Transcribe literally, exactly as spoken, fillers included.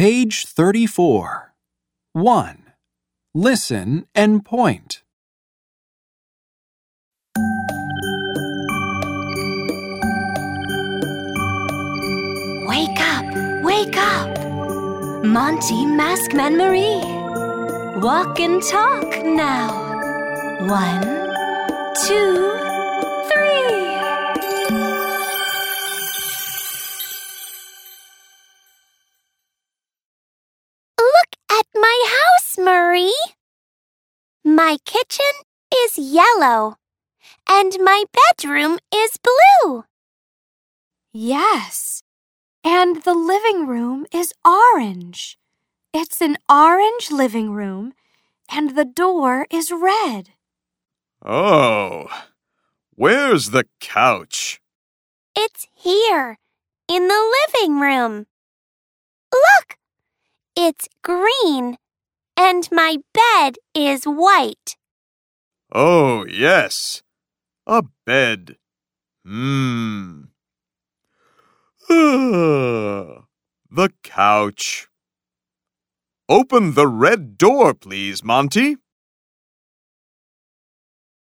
Page thirty-four. one. Listen and point. Wake up, wake up! Monty, Maskman Marie. Walk and talk now. One, two, three. Look at my house, Marie. My kitchen is yellow, and my bedroom is blue. Yes, and the living room is orange. It's an orange living room, and the door is red. Oh, where's the couch? It's here, in the living room. Look, it's green, and my bed is white. Oh, yes, a bed. Hmm. The couch. Open the red door, please, Monty.